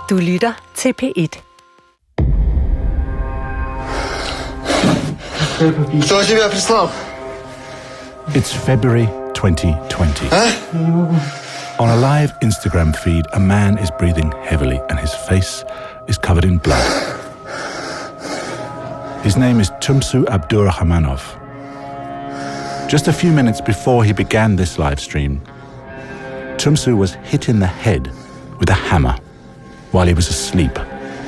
Du lytter til P1. Кто тебя прислал? It's February 2020. On a live Instagram feed, a man is breathing heavily and his face is covered in blood. His name is Tumsu Abdurrahmanov. Just a few minutes before he began this live stream, Tumsu was hit in the head with a hammer while he was asleep.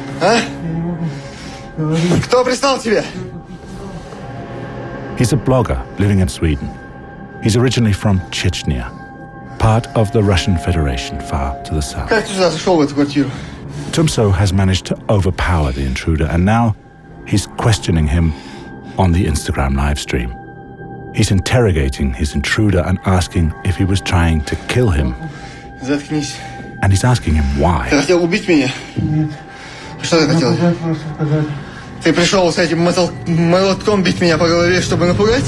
Кто прислал тебя? He's a blogger living in Sweden. He's originally from Chechnya, part of the Russian Federation far to the south. Как ты сюда зашел в эту квартиру? Tumsu has managed to overpower the intruder, and now he's questioning him on the Instagram live stream. He's interrogating his intruder and asking if he was trying to kill him. Заткнись. And he's asking him why. Ты хотел убить меня? Нет. Что ты хотел? Ты пришел с этим молотком бить меня по голове, чтобы напугать?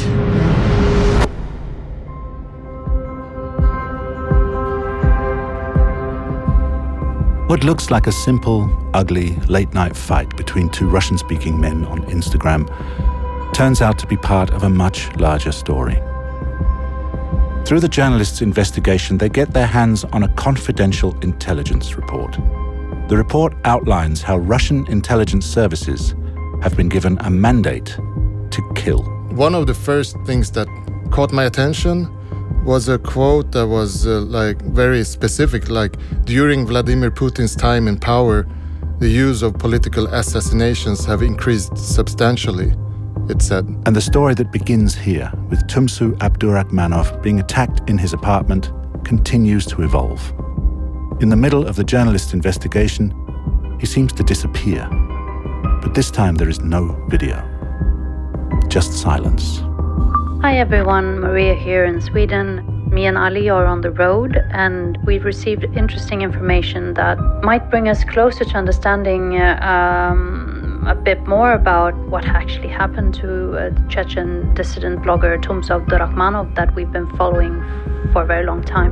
What looks like a simple, ugly, late-night fight between two Russian-speaking men on Instagram turns out to be part of a much larger story. Through the journalists' investigation, they get their hands on a confidential intelligence report. The report outlines how Russian intelligence services have been given a mandate to kill. One of the first things that caught my attention was a quote that was very specific, like, during Vladimir Putin's time in power, the use of political assassinations have increased substantially, it said. And the story that begins here, with Tumsu Abdurrahmanov being attacked in his apartment, continues to evolve. In the middle of the journalist's investigation, he seems to disappear. But this time there is no video, just silence. Hi everyone, Maria here in Sweden. Me and Ali are on the road and we've received interesting information that might bring us closer to understanding a bit more about what actually happened to the Chechen dissident blogger Tumsu Abdurrahmanov that we've been following for a very long time.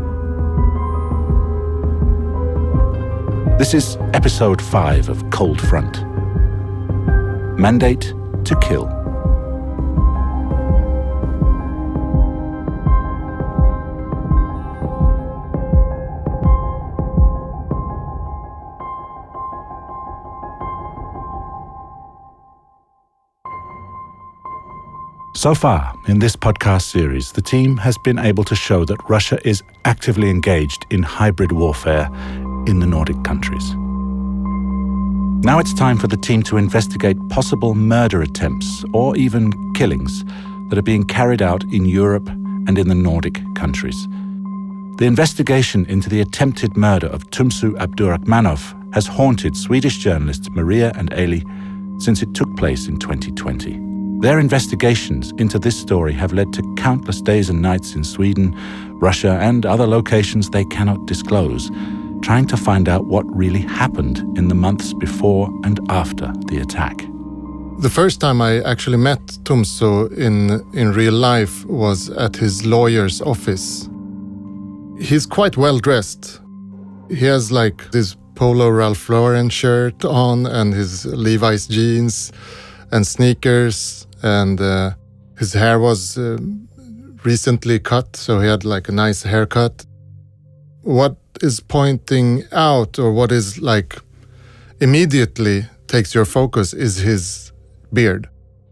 This is episode 5 of Cold Front. Mandate to kill. So far, in this podcast series, the team has been able to show that Russia is actively engaged in hybrid warfare in the Nordic countries. Now it's time for the team to investigate possible murder attempts or even killings that are being carried out in Europe and in the Nordic countries. The investigation into the attempted murder of Tumsu Abdurrahmanov has haunted Swedish journalists Maria and Eli since it took place in 2020. Their investigations into this story have led to countless days and nights in Sweden, Russia, and other locations they cannot disclose, trying to find out what really happened in the months before and after the attack. The first time I actually met Tumsu in real life was at his lawyer's office. He's quite well dressed. He has like this polo Ralph Lauren shirt on and his Levi's jeans and sneakers, and his hair was recently cut, so he had like a nice haircut. What is pointing out, or what is like immediately takes your focus, is his beard.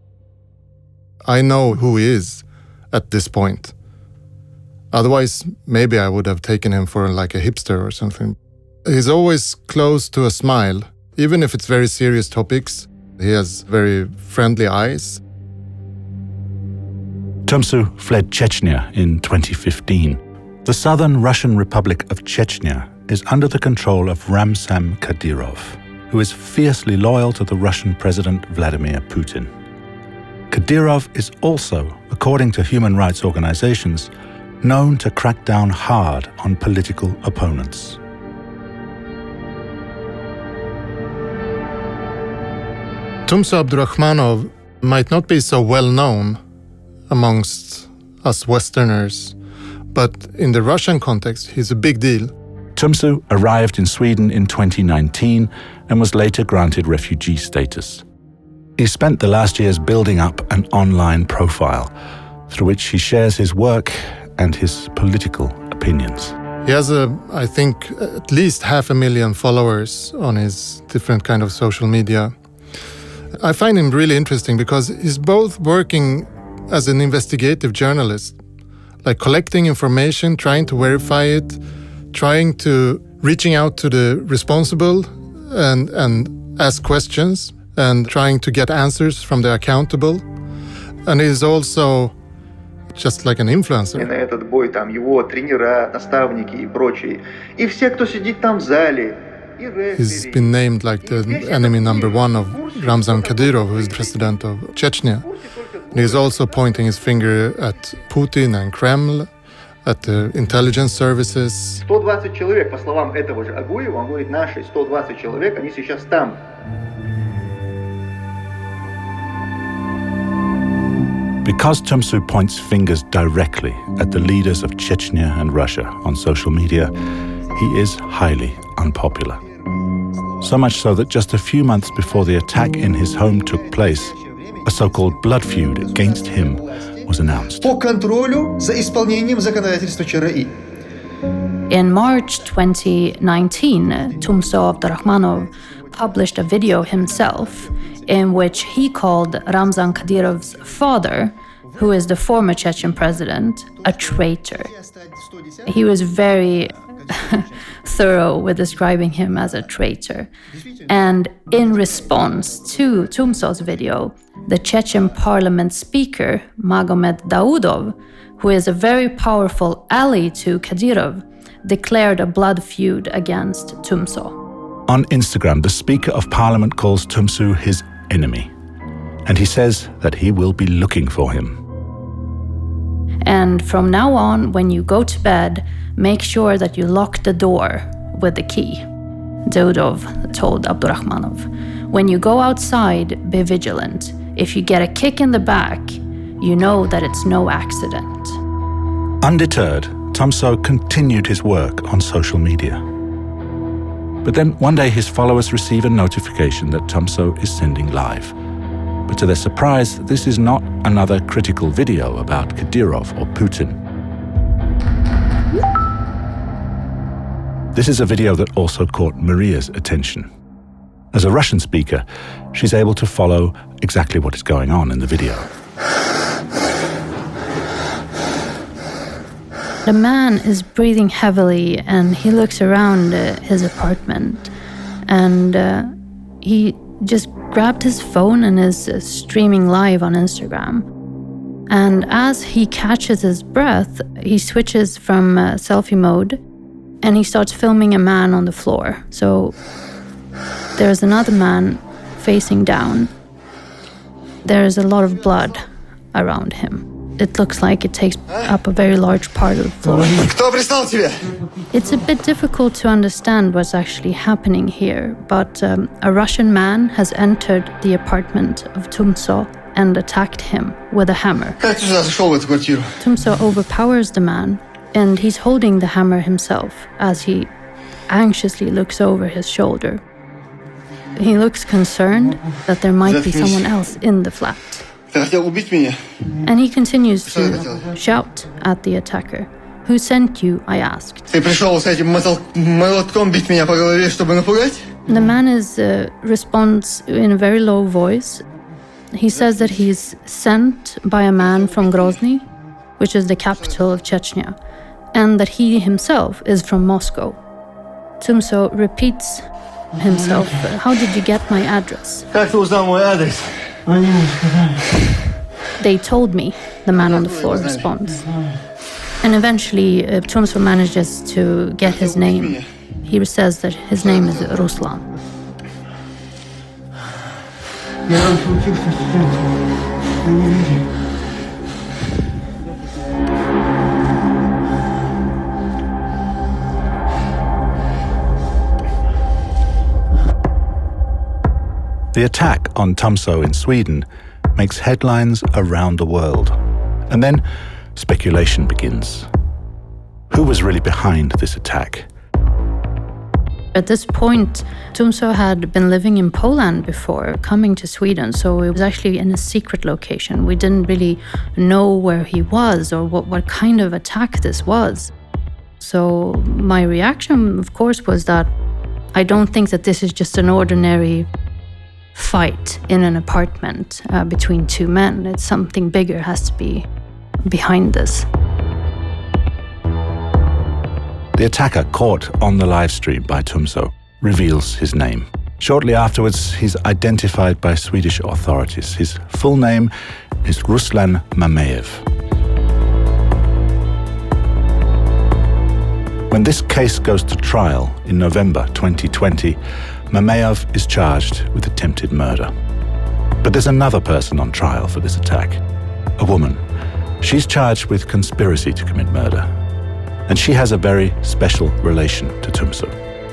I know who he is at this point. Otherwise, maybe I would have taken him for like a hipster or something. He's always close to a smile, even if it's very serious topics. He has very friendly eyes. Tumsu fled Chechnya in 2015. The southern Russian Republic of Chechnya is under the control of Ramzan Kadyrov, who is fiercely loyal to the Russian President Vladimir Putin. Kadyrov is also, according to human rights organizations, known to crack down hard on political opponents. Tumsu Abdurrahmanov might not be so well known amongst us Westerners, but in the Russian context, he's a big deal. Tumsu arrived in Sweden in 2019 and was later granted refugee status. He spent the last years building up an online profile through which he shares his work and his political opinions. He has, I think, at least 500,000 followers on his different kind of social media. I find him really interesting because he's both working as an investigative journalist, like collecting information, trying to verify it, reaching out to the responsible and ask questions and trying to get answers from the accountable. And he's also just like an influencer. На этот бой там его тренера, наставники и прочие. И все, кто сидит там в зале. He's been named like the enemy number one of Ramzan Kadyrov, who is president of Chechnya. And he's also pointing his finger at Putin and Kreml, at the intelligence services. 120 человек, по словам этого же Агуева, он говорит, наши 120 человек, они сейчас там. Because Tumsu points fingers directly at the leaders of Chechnya and Russia on social media, he is highly unpopular. So much so that just a few months before the attack in his home took place, a so-called blood feud against him was announced. По контролю за исполнением законодательства ЧРИ. In March 2019, Tumso Abdurrahmanov published a video himself in which he called Ramzan Kadyrov's father, who is the former Chechen president, a traitor. He was very thorough with describing him as a traitor. And in response to Tumso's video, the Chechen parliament speaker, Magomed Daudov, who is a very powerful ally to Kadyrov, declared a blood feud against Tumso. On Instagram, the Speaker of Parliament calls Tumsu his enemy, and he says that he will be looking for him. And from now on, when you go to bed, make sure that you lock the door with the key, Daudov told Abdurrahmanov. When you go outside, be vigilant. If you get a kick in the back, you know that it's no accident. Undeterred, Tumso continued his work on social media. But then one day his followers receive a notification that Tumso is sending live. But to their surprise, this is not another critical video about Kadyrov or Putin. This is a video that also caught Maria's attention. As a Russian speaker, she's able to follow exactly what is going on in the video. The man is breathing heavily and he looks around his apartment and he just grabbed his phone and is streaming live on Instagram. And as he catches his breath, he switches from selfie mode and he starts filming a man on the floor. So there's another man facing down. There's a lot of blood around him. It looks like it takes up a very large part of the floor. Кто пристал к тебе? It's a bit difficult to understand what's actually happening here, but a Russian man has entered the apartment of Tumso and attacked him with a hammer. Как ты сюда зашел в эту квартиру? Tumso overpowers the man, and he's holding the hammer himself as he anxiously looks over his shoulder. He looks concerned that there might be someone else in the flat. Ты хотел убить меня? And he continues to shout at the attacker. Who sent you? I asked. Ты пришел с этим молотком бить меня по голове, чтобы напугать? The man responds in a very low voice. He says that he's sent by a man from Grozny, which is the capital of Chechnya, and that he himself is from Moscow. Tumso repeats himself. How did you get my address? Как ты узнал мой адрес? They told me, the man on the floor responds. And eventually, Tumso manages to get his name. He says that his name is Ruslan. The attack on Tumso in Sweden makes headlines around the world. And then speculation begins. Who was really behind this attack? At this point, Tumso had been living in Poland before coming to Sweden, so it was actually in a secret location. We didn't really know where he was or what kind of attack this was. So my reaction, of course, was that I don't think that this is just an ordinary fight in an apartment between two men. It's something bigger has to be behind this. The attacker caught on the live stream by Tumso reveals his name. Shortly afterwards, he's identified by Swedish authorities. His full name is Ruslan Mamayev. When this case goes to trial in November 2020, Mamayev is charged with attempted murder. But there's another person on trial for this attack, a woman. She's charged with conspiracy to commit murder. And she has a very special relation to Tumso.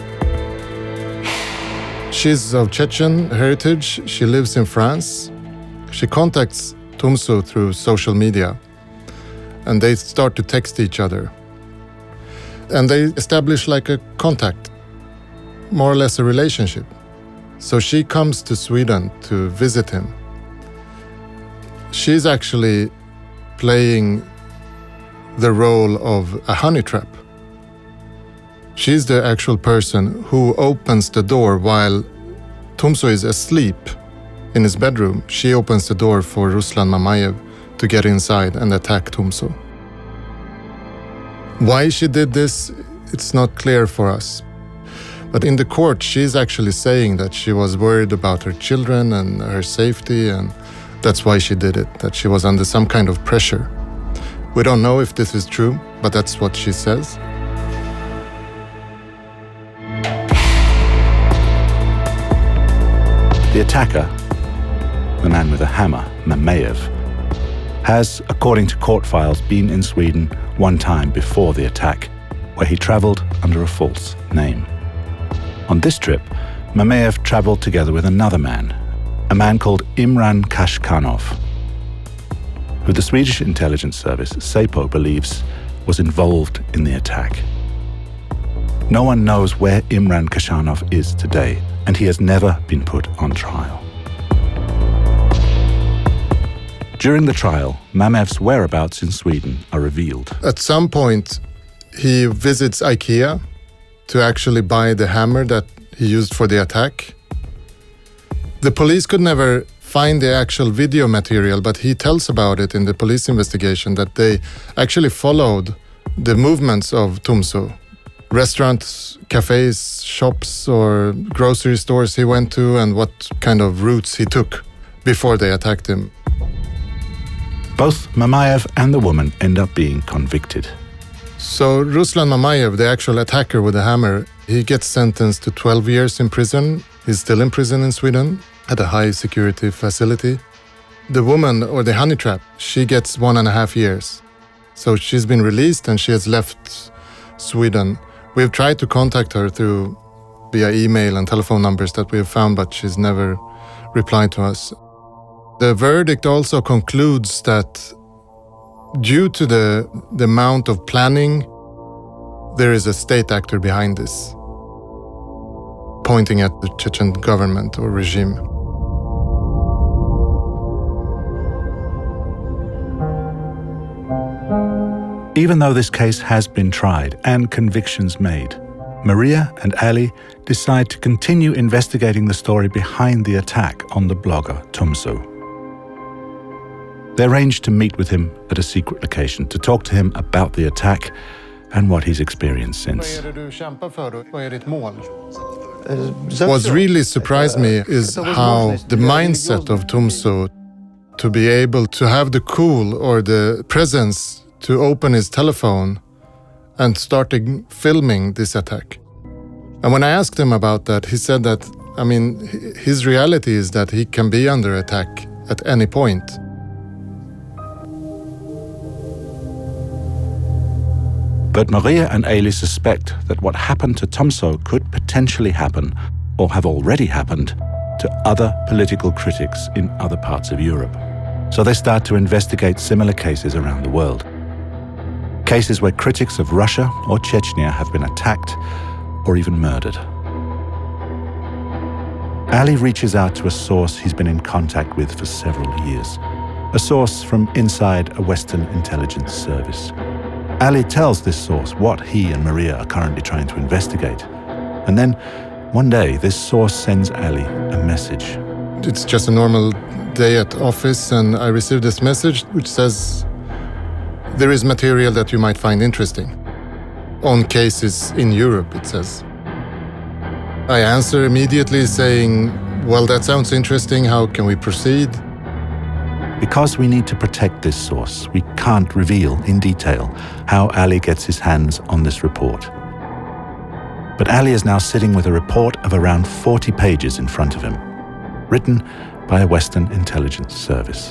She's of Chechen heritage. She lives in France. She contacts Tumso through social media, and they start to text each other. And they establish like a contact, more or less a relationship. So she comes to Sweden to visit him. She's actually playing the role of a honey trap. She's the actual person who opens the door while Tumso is asleep in his bedroom. She opens the door for Ruslan Mamayev to get inside and attack Tumso. Why she did this, it's not clear for us. But in the court, she's actually saying that she was worried about her children and her safety, and that's why she did it, that she was under some kind of pressure. We don't know if this is true, but that's what she says. The attacker, the man with a hammer, Mamayev, has, according to court files, been in Sweden one time before the attack, where he traveled under a false name. On this trip, Mamayev traveled together with another man, a man called Imran Kashkanov, who the Swedish intelligence service, Säpo, believes was involved in the attack. No one knows where Imran Kashkanov is today, and he has never been put on trial. During the trial, Mamayev's whereabouts in Sweden are revealed. At some point, he visits IKEA to actually buy the hammer that he used for the attack. The police could never find the actual video material, but he tells about it in the police investigation that they actually followed the movements of Tumso. Restaurants, cafes, shops, or grocery stores he went to, and what kind of routes he took before they attacked him. Both Mamayev and the woman end up being convicted. So Ruslan Mamayev, the actual attacker with the hammer, he gets sentenced to 12 years in prison. He's still in prison in Sweden at a high security facility. The woman, or the honey trap, she gets 1.5 years. So she's been released and she has left Sweden. We've tried to contact her via email and telephone numbers that we have found, but she's never replied to us. The verdict also concludes that due to the amount of planning, there is a state actor behind this, pointing at the Chechen government or regime. Even though this case has been tried and convictions made, Maria and Ali decide to continue investigating the story behind the attack on the blogger Tumso. They arrange to meet with him at a secret location to talk to him about the attack and what he's experienced since. What really surprised me is how the mindset of Tumso to be able to have the cool or the presence to open his telephone and starting filming this attack. And when I asked him about that, he said that, his reality is that he can be under attack at any point. But Maria and Ailey suspect that what happened to Tumso could potentially happen, or have already happened, to other political critics in other parts of Europe. So they start to investigate similar cases around the world. Cases where critics of Russia or Chechnya have been attacked or even murdered. Ali reaches out to a source he's been in contact with for several years, a source from inside a Western intelligence service. Ali tells this source what he and Maria are currently trying to investigate. And then, one day, this source sends Ali a message. It's just a normal day at office, and I received this message which says, "There is material that you might find interesting. On cases in Europe," it says. I answer immediately saying, "Well, that sounds interesting. How can we proceed?" Because we need to protect this source, we can't reveal in detail how Ali gets his hands on this report. But Ali is now sitting with a report of around 40 pages in front of him, written by a Western intelligence service.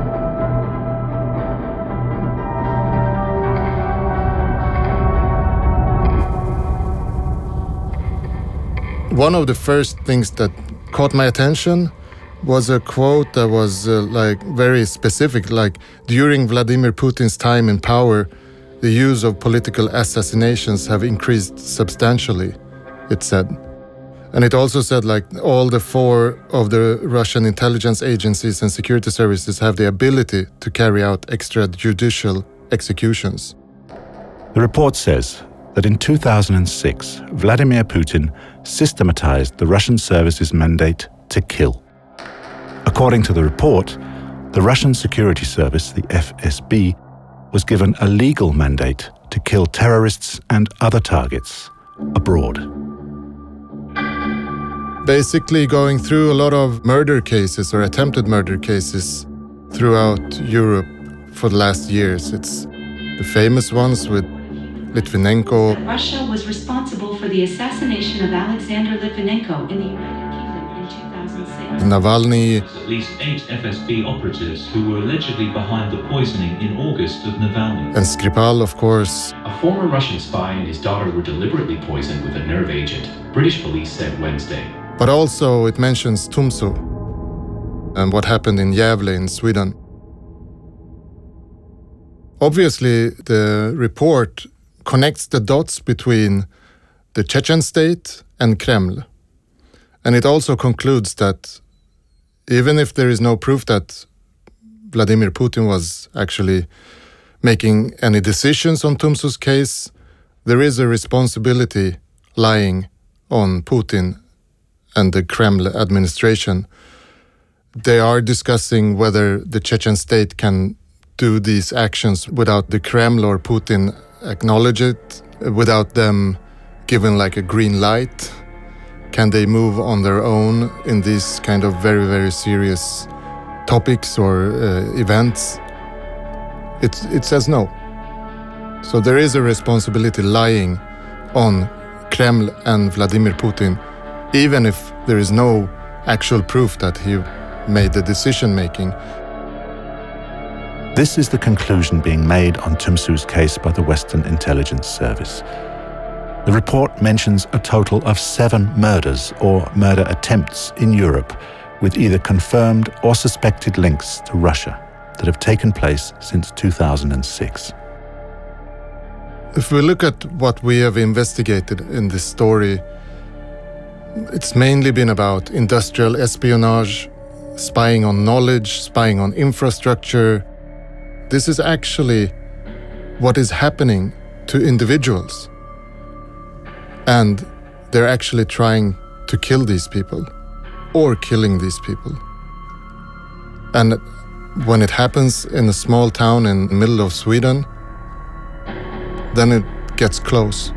One of the first things that caught my attention was a quote that was very specific, like, "During Vladimir Putin's time in power, the use of political assassinations have increased substantially," it said. And it also said, like, all the 4 of the Russian intelligence agencies and security services have the ability to carry out extrajudicial executions. The report says that in 2006, Vladimir Putin systematized the Russian service's mandate to kill. According to the report, the Russian security service, the FSB, was given a legal mandate to kill terrorists and other targets abroad. Basically going through a lot of murder cases or attempted murder cases throughout Europe for the last years. It's the famous ones with Litvinenko. Russia was responsible for the assassination of Alexander Litvinenko in the United Kingdom in 2006. Navalny. At least 8 FSB operatives who were allegedly behind the poisoning in August of Navalny. And Skripal, of course. A former Russian spy and his daughter were deliberately poisoned with a nerve agent, British police said Wednesday. But also it mentions Tumso and what happened in Gävle in Sweden. Obviously, the report connects the dots between the Chechen state and Kreml. And it also concludes that even if there is no proof that Vladimir Putin was actually making any decisions on Tumso's case, there is a responsibility lying on Putin and the Kreml administration. They are discussing whether the Chechen state can do these actions without the Kreml or Putin acknowledge it, without them giving like a green light. Can they move on their own in these kind of very, very serious topics or events? It says no. So there is a responsibility lying on Kreml and Vladimir Putin, even if there is no actual proof that he made the decision-making. This is the conclusion being made on Tumsu's case by the Western Intelligence Service. The report mentions a total of 7 murders or murder attempts in Europe with either confirmed or suspected links to Russia that have taken place since 2006. If we look at what we have investigated in this story, it's mainly been about industrial espionage, spying on knowledge, spying on infrastructure. This is actually what is happening to individuals. And they're actually trying to kill these people or killing these people. And when it happens in a small town in the middle of Sweden, then it gets close.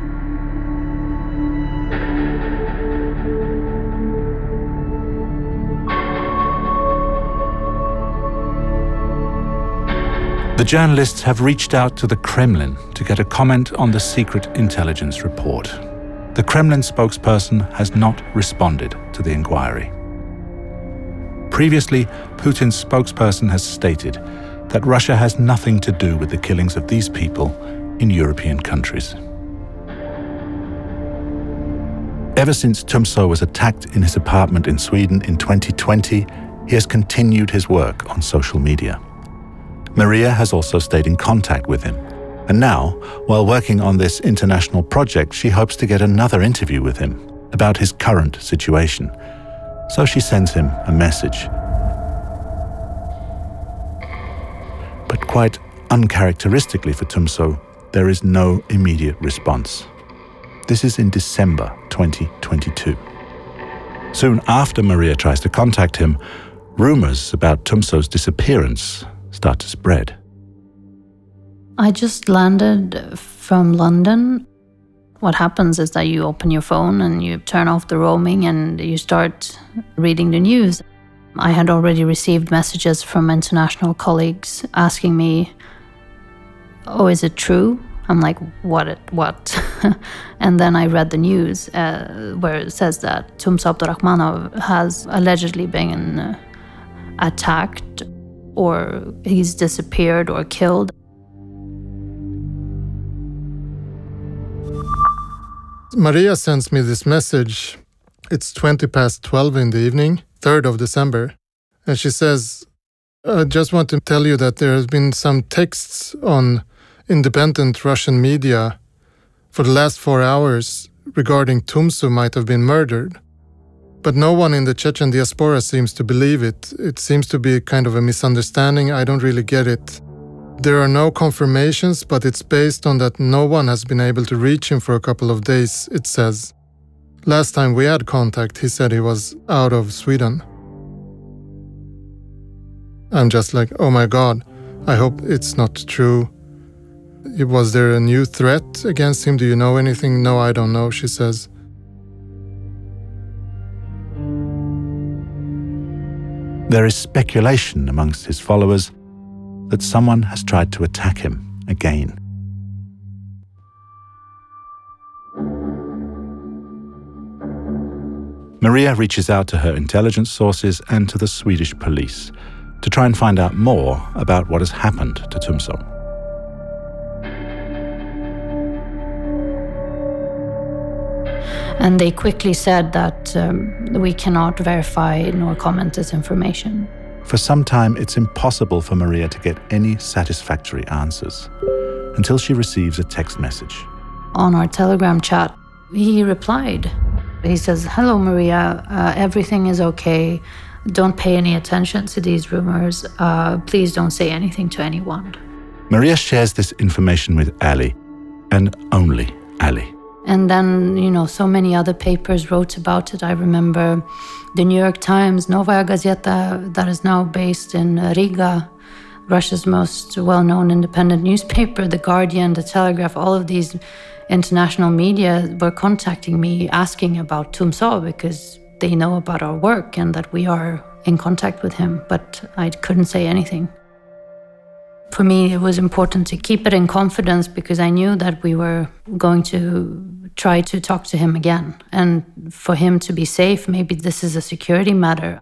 The journalists have reached out to the Kremlin to get a comment on the secret intelligence report. The Kremlin spokesperson has not responded to the inquiry. Previously, Putin's spokesperson has stated that Russia has nothing to do with the killings of these people in European countries. Ever since Tumso was attacked in his apartment in Sweden in 2020, he has continued his work on social media. Maria has also stayed in contact with him. And now, while working on this international project, she hopes to get another interview with him about his current situation. So she sends him a message. But quite uncharacteristically for Tumso, there is no immediate response. This is in December 2022. Soon after Maria tries to contact him, rumors about Tumso's disappearance start to spread. I just landed from London. What happens is that you open your phone and you turn off the roaming and you start reading the news. I had already received messages from international colleagues asking me, "Oh, is it true?" I'm like, what? And then I read the news where it says that Tumso Abdurakhmanov has allegedly been attacked, or he's disappeared or killed. Maria sends me this message. It's 12:20 in the evening, 3rd of December. And she says, "I just want to tell you that there has been some texts on independent Russian media for the last 4 hours regarding Tumso might have been murdered. But no one in the Chechen diaspora seems to believe it. It seems to be kind of a misunderstanding. I don't really get it. There are no confirmations, but it's based on that no one has been able to reach him for a couple of days," it says. "Last time we had contact, he said he was out of Sweden." I'm just like, oh my God, I hope it's not true. Was there a new threat against him? Do you know anything? "No, I don't know," she says. There is speculation amongst his followers that someone has tried to attack him again. Maria reaches out to her intelligence sources and to the Swedish police to try and find out more about what has happened to Tumso. And they quickly said that we cannot verify nor comment this information. For some time, it's impossible for Maria to get any satisfactory answers until she receives a text message. On our Telegram chat, he replied. He says, "Hello, Maria. Everything is okay. Don't pay any attention to these rumors. Please don't say anything to anyone." Maria shares this information with Ali, and only Ali. And then, so many other papers wrote about it. I remember the New York Times, Novaya Gazeta, that is now based in Riga, Russia's most well-known independent newspaper, The Guardian, The Telegraph, all of these international media were contacting me asking about Tumso because they know about our work and that we are in contact with him, but I couldn't say anything. For me, it was important to keep it in confidence because I knew that we were going to try to talk to him again. And for him to be safe, maybe this is a security matter.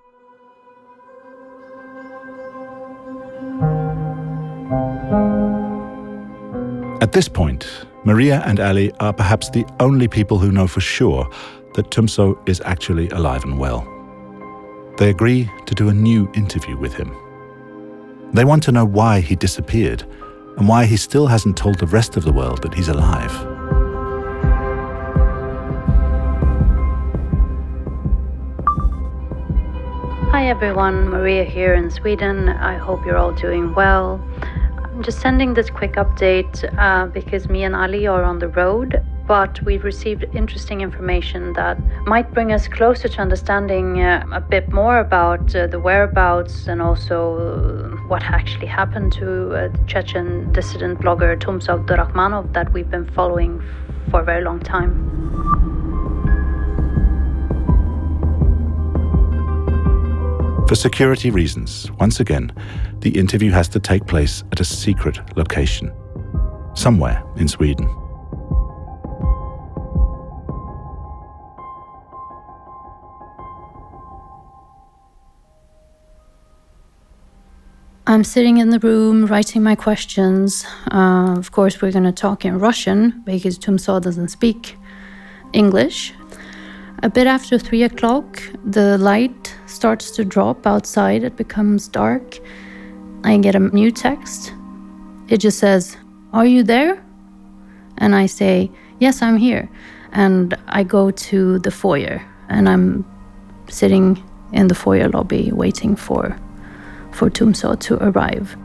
At this point, Maria and Ali are perhaps the only people who know for sure that Tumso is actually alive and well. They agree to do a new interview with him. They want to know why he disappeared and why he still hasn't told the rest of the world that he's alive. Hi everyone, Maria here in Sweden. I hope you're all doing well. I'm just sending this quick update because me and Ali are on the road, but we've received interesting information that might bring us closer to understanding a bit more about the whereabouts and also what actually happened to the Chechen dissident blogger Tumso Abdurakhmanov that we've been following for a very long time. For security reasons, once again, the interview has to take place at a secret location, somewhere in Sweden. I'm sitting in the room writing my questions. Of course, we're going to talk in Russian because Tumso doesn't speak English. A bit after 3 o'clock, the light starts to drop outside. It becomes dark. I get a new text. It just says, "Are you there?" And I say, "Yes, I'm here." And I go to the foyer and I'm sitting in the foyer lobby waiting for Tumso to arrive.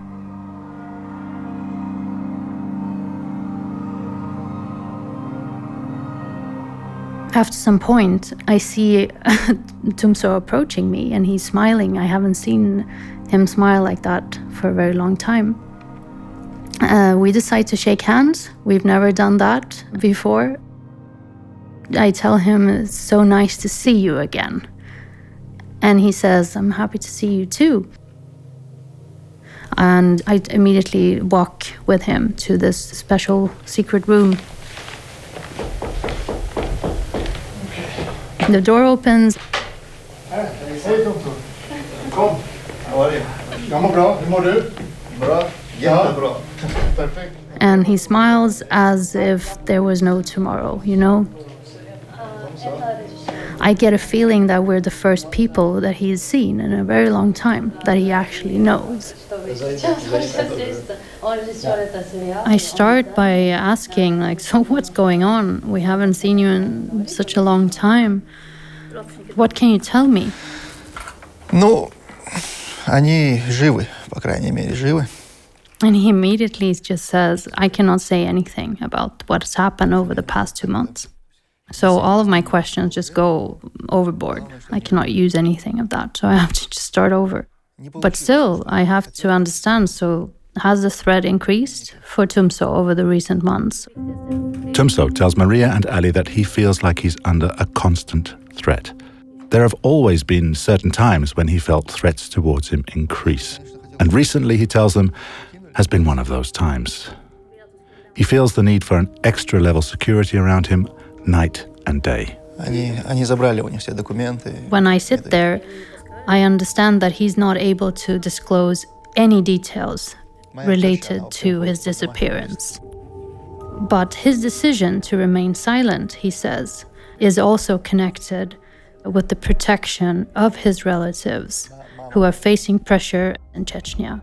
After some point, I see Tumso approaching me, and he's smiling. I haven't seen him smile like that for a very long time. We decide to shake hands. We've never done that before. I tell him, it's so nice to see you again. And he says, I'm happy to see you too. And I immediately walk with him to this special secret room. The door opens. Hej Tumso. Kom. Jag mår bra. Hur mår du? Bra. Jättebra. Perfekt. And he smiles as if there was no tomorrow, you know? I get a feeling that we're the first people that he's seen in a very long time, that he actually knows. I start by asking, like, so what's going on? We haven't seen you in such a long time. What can you tell me? Ну, они живы, по крайней мере, живы. And he immediately just says, I cannot say anything about what's happened over the past 2 months. So all of my questions just go overboard. I cannot use anything of that, so I have to just start over. But still, I have to understand, so has the threat increased for Tumso over the recent months? Tumso tells Maria and Ali that he feels like he's under a constant threat. There have always been certain times when he felt threats towards him increase. And recently, he tells them, has been one of those times. He feels the need for an extra level security around him night and day. Они забрали у них все документы. When I sit there, I understand that he's not able to disclose any details related to his disappearance. But his decision to remain silent, he says, is also connected with the protection of his relatives who are facing pressure in Chechnya.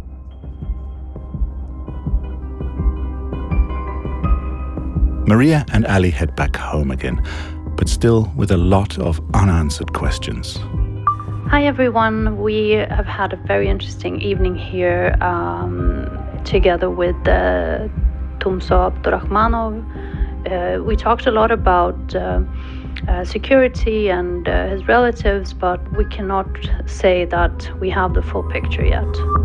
Maria and Ali head back home again, but still with a lot of unanswered questions. Hi everyone, we have had a very interesting evening here together with Tumso Abdurrahmanov. We talked a lot about security and his relatives, but we cannot say that we have the full picture yet.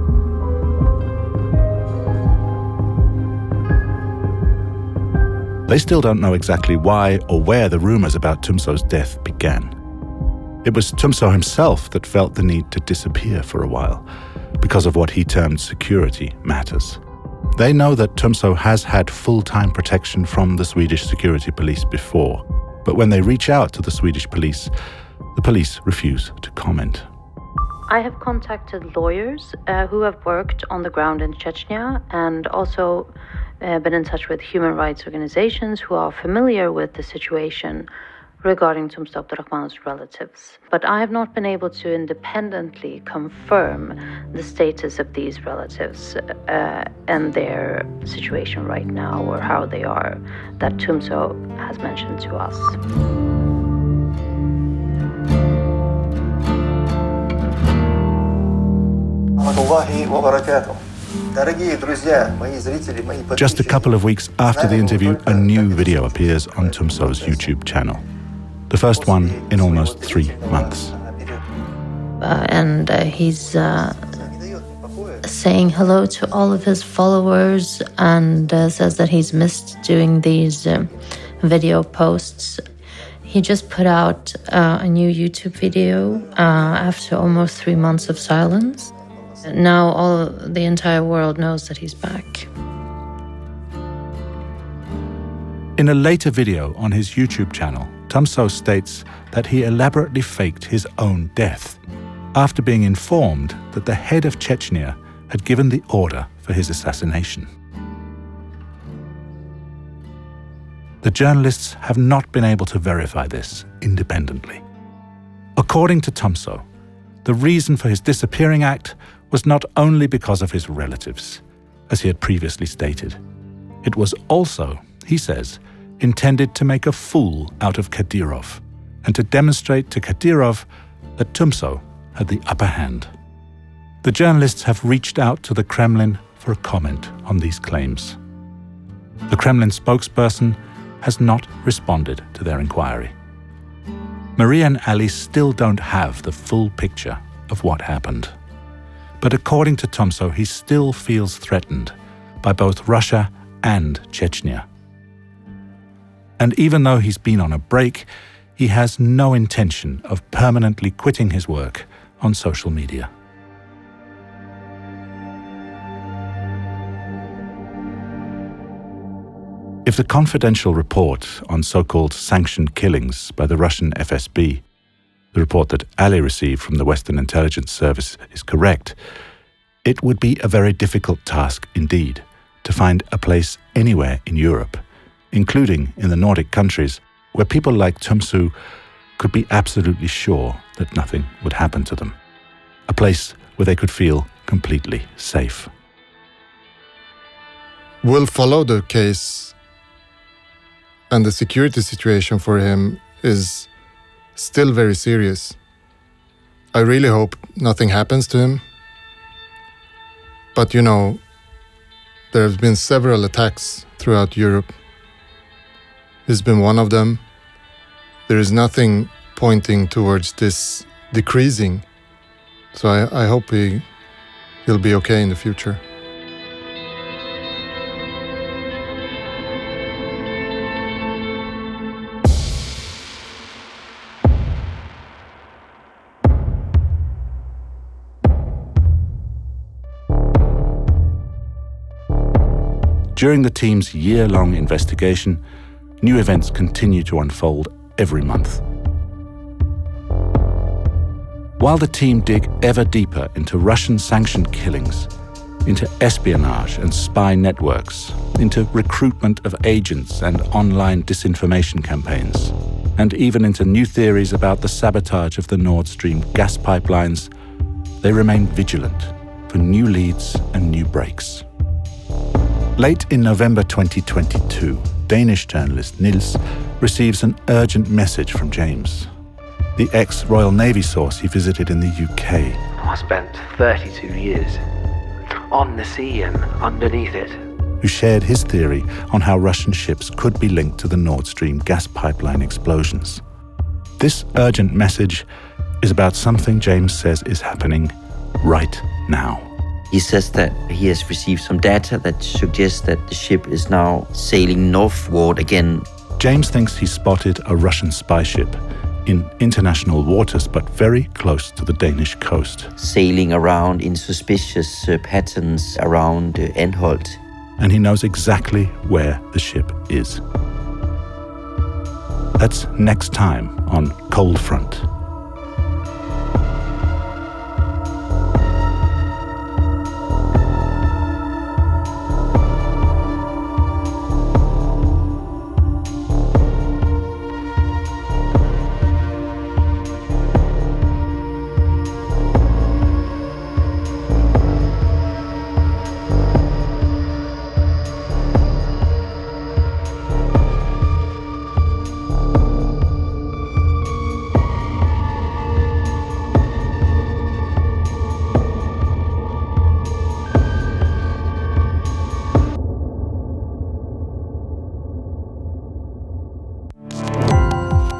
They still don't know exactly why or where the rumors about Tumso's death began. It was Tumso himself that felt the need to disappear for a while because of what he termed security matters. They know that Tumso has had full-time protection from the Swedish security police before, but when they reach out to the Swedish police, the police refuse to comment. I have contacted lawyers who have worked on the ground in Chechnya and also been in touch with human rights organizations who are familiar with the situation regarding Tumso Abdurrahmanov's relatives. But I have not been able to independently confirm the status of these relatives and their situation right now, or how they are, that Tumso has mentioned to us. Just a couple of weeks after the interview, a new video appears on Tumso's YouTube channel. The first one in almost 3 months. And he's saying hello to all of his followers and says that he's missed doing these video posts. He just put out a new YouTube video after almost 3 months of silence. Now the entire world knows that he's back. In a later video on his YouTube channel, Tumso states that he elaborately faked his own death after being informed that the head of Chechnya had given the order for his assassination. The journalists have not been able to verify this independently. According to Tumso, the reason for his disappearing act was not only because of his relatives, as he had previously stated. It was also, he says, intended to make a fool out of Kadyrov and to demonstrate to Kadyrov that Tumso had the upper hand. The journalists have reached out to the Kremlin for a comment on these claims. The Kremlin spokesperson has not responded to their inquiry. Maria and Ali still don't have the full picture of what happened. But according to Tumso, he still feels threatened by both Russia and Chechnya. And even though he's been on a break, he has no intention of permanently quitting his work on social media. If the confidential report on so-called sanctioned killings by the Russian FSB, the report that Ali received from the Western Intelligence Service, is correct, it would be a very difficult task indeed to find a place anywhere in Europe, including in the Nordic countries, where people like Tumso could be absolutely sure that nothing would happen to them. A place where they could feel completely safe. We'll follow the case, and the security situation for him is still very serious. I really hope nothing happens to him. But there have been several attacks throughout Europe. This has been one of them. There is nothing pointing towards this decreasing. So I hope he'll be okay in the future. During the team's year-long investigation, new events continue to unfold every month. While the team dig ever deeper into Russian-sanctioned killings, into espionage and spy networks, into recruitment of agents and online disinformation campaigns, and even into new theories about the sabotage of the Nord Stream gas pipelines, they remain vigilant for new leads and new breaks. Late in November 2022, Danish journalist Niels receives an urgent message from James, the ex-Royal Navy source he visited in the UK. I spent 32 years on the sea and underneath it. Who shared his theory on how Russian ships could be linked to the Nord Stream gas pipeline explosions. This urgent message is about something James says is happening right now. He says that he has received some data that suggests that the ship is now sailing northward again. James thinks he spotted a Russian spy ship in international waters, but very close to the Danish coast. Sailing around in suspicious patterns around Anholt. And he knows exactly where the ship is. That's next time on Cold Front.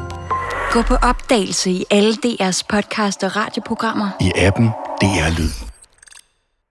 Gå på opdagelse i alle DR's podcast og radioprogrammer. I appen DR Lyd.